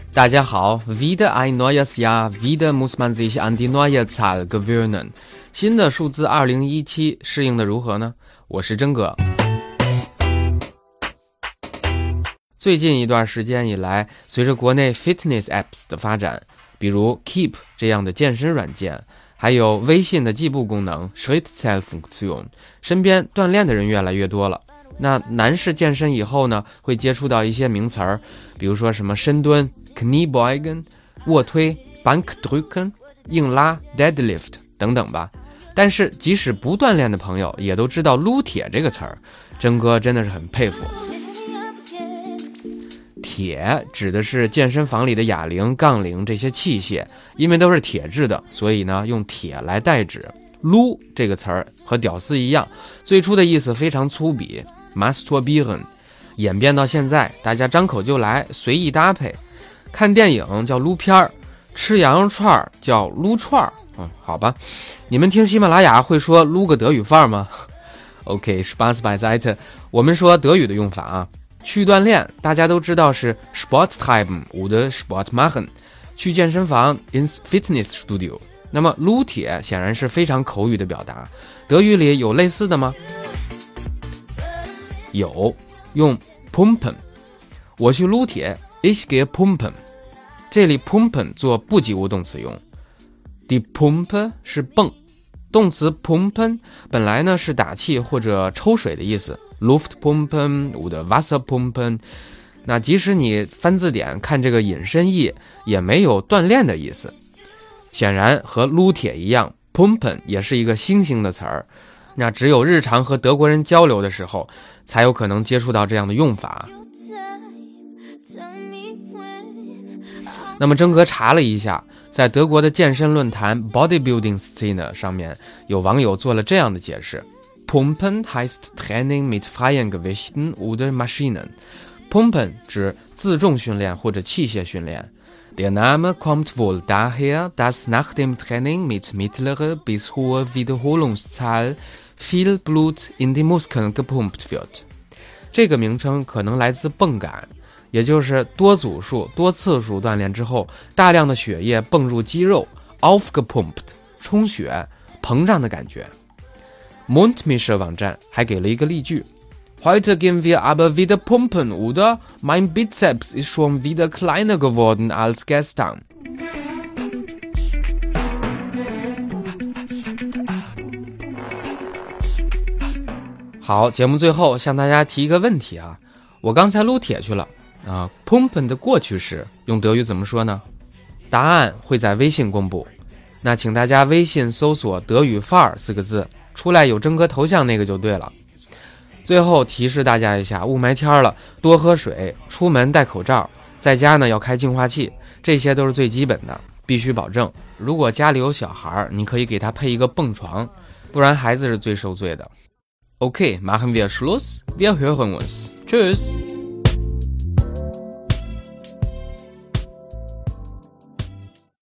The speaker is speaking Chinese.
大家好 wieder ein neues Jahr, wieder muss man sich an die neue Zahl gewöhnen。 新的数字2017适应的如何呢？我是真哥。最近一段时间以来，随着国内 fitness apps 的发展，比如 Keep 这样的健身软件，还有微信的计步功能 Schrittzählfunktion， 身边锻炼的人越来越多了。那男士健身以后呢，会接触到一些名词儿，比如说什么深蹲 Kniebeugen、卧推 Bankdrücken、硬拉 Deadlift 等等吧。但是即使不锻炼的朋友也都知道撸铁这个词儿，真哥真的是很佩服。铁指的是健身房里的哑铃、杠铃这些器械，因为都是铁制的，所以呢用铁来代指。撸这个词儿和屌丝一样，最初的意思非常粗鄙 masturbieren， 演变到现在大家张口就来，随意搭配。看电影叫撸片儿，吃羊肉串叫撸串儿。好吧，你们听喜马拉雅会说撸个德语范儿吗？ OK, Spaß beiseite， 我们说德语的用法啊。去锻炼大家都知道是 Sport treiben oder Sport machen， 去健身房 ins Fitnessstudio。 那么撸铁显然是非常口语的表达，德语里有类似的吗？有，用 pumpen， 我去撸铁 ich gehe pumpen， 这里 pumpen 做不及物动词用。Die Pumpe 是泵，动词 pumpen 本来呢是打气或者抽水的意思， Luftpumpen oder Wasserpumpen。 那即使你翻字典看这个引申义，也没有锻炼的意思。显然和撸铁一样， pumpen 也是一个新兴的词儿，那只有日常和德国人交流的时候才有可能接触到这样的用法。那么真哥查了一下，在德国的健身论坛 Bodybuilding Szene 上面，有网友做了这样的解释： Pumpen heißt Training mit freien Gewichten oder Maschinen。 Pumpen 指自重训练或者器械训练。Der Name kommt wohl daher, dass nach dem Training mit mittlerer bis hoher Wiederholungszahl viel Blut in die Muskeln gepumpt wird。 这个名称可能来自泵感，也就是多组数、多次数锻炼之后，大量的血液泵入肌肉 aufgepumpt， 充血、膨胀的感觉。Mundmische 网站还给了一个例句：Heute gehen wir aber wieder pumpen, oder? Mein Bizeps ist schon wieder kleiner geworden als gestern. 好，节目最后向大家提一个问题啊，我刚才撸铁去了啊 ，pumpen 的过去式用德语怎么说呢？答案会在微信公布，那请大家微信搜索德语范儿4个字，出来有真哥头像那个就对了。最后提示大家一下，雾霾天了，多喝水，出门戴口罩，在家呢要开净化器，这些都是最基本的，必须保证。如果家里有小孩，你可以给他配一个蹦床，不然孩子是最受罪的。Okay, machen wir Schluss. Wir hören uns. Tschüss.